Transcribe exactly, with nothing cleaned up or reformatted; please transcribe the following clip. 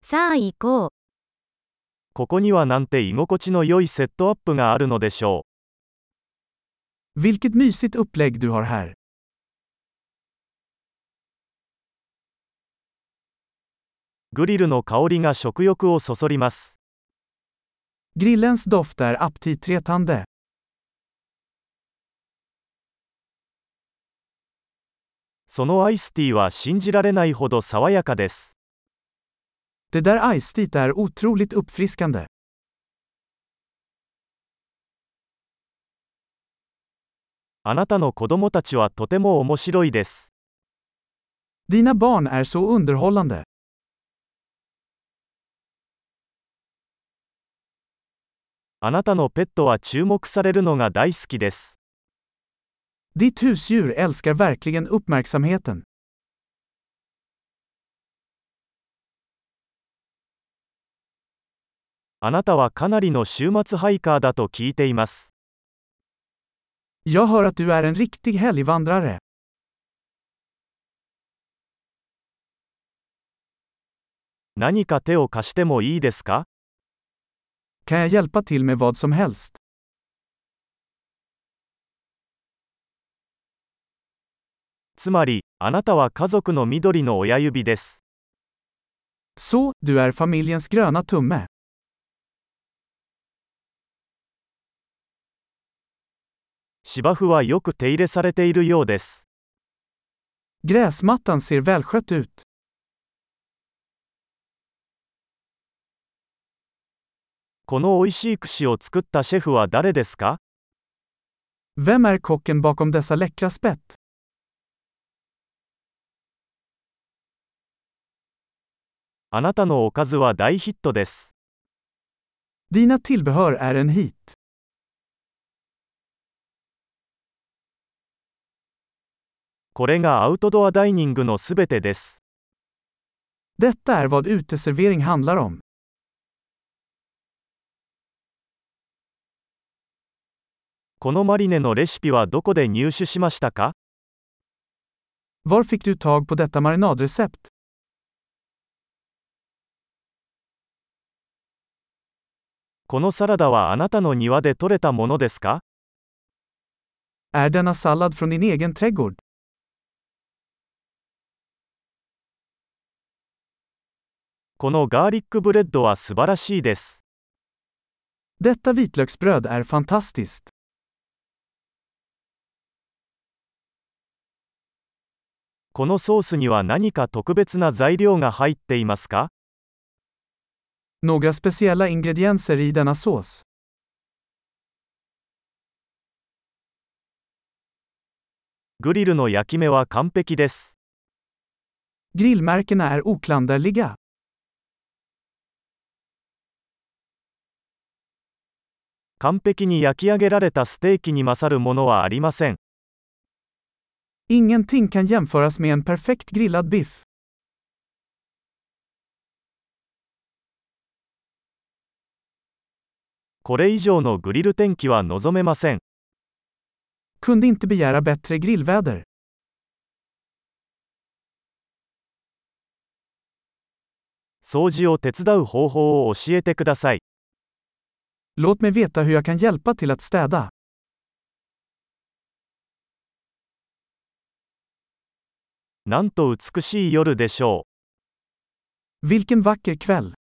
さあ行こう。 ここにはなんて居心地の良いセットアップがあるのでしょ Vilket mysigt upplägg du har här. う。グリルの香りが食欲をそそります。 Grillens doft är aptitretande. そのアイスティーは信じられないほど爽やかです。 Det där iced är otroligt uppfriskande. あなたの子供たちはとても面白いです。 Dina barn är så underhållande. あなたのペットは注目されるのが大好きです。 Ditt husdjur älskar verkligen uppmärksamheten. あなたはかなりの週末ハイカーだと聞いています。 Jag hör att du är en riktig helgvandrare. 何か手を貸してもいいですか？ Kan jag hjälpa till med vad som helst? つまり、あなたは家族の緑の親指です。 Så, du är familjens gröna tumme. 芝生はよく手入れされているようです。 Gräsmattan ser välskött ut. この美味しい串を作ったシェフは誰ですか？ Vem är kocken bakom dessa läckra spett? あなたのおかずは大ヒットです。 Dina tillbehör är en hit. これがアウトドアダイニングのすべてです。 Detta är vad uteservering handlar om. このマリネのレシピはどこで入手しましたか？ Var fick du tag på detta marinadrecept? このサラダはあなたの庭で採れたものですか？ Är denna sallad från din egen trädgård? このガーリックブレッドは素晴らしいです。 Detta vitlöksbröd är fantastiskt. このソースには何か特別な材料が入っていますか？ Några speciella ingredienser i denna sås. グリルの焼き目は完璧です。 Grillmärkena är oklanderliga. 完璧に焼き上げられたステーキに勝るものはありません。 Ingenting kan jämföras med en perfekt grillad biff. これ以上のグリル天気は望めません。 Kunde inte begära bättre grillväder. 掃除を手伝う方法を教えてください。 Låt mig veta hur jag kan hjälpa till att städa. なんと美しい夜でしょう。 Vilken vacker kväll.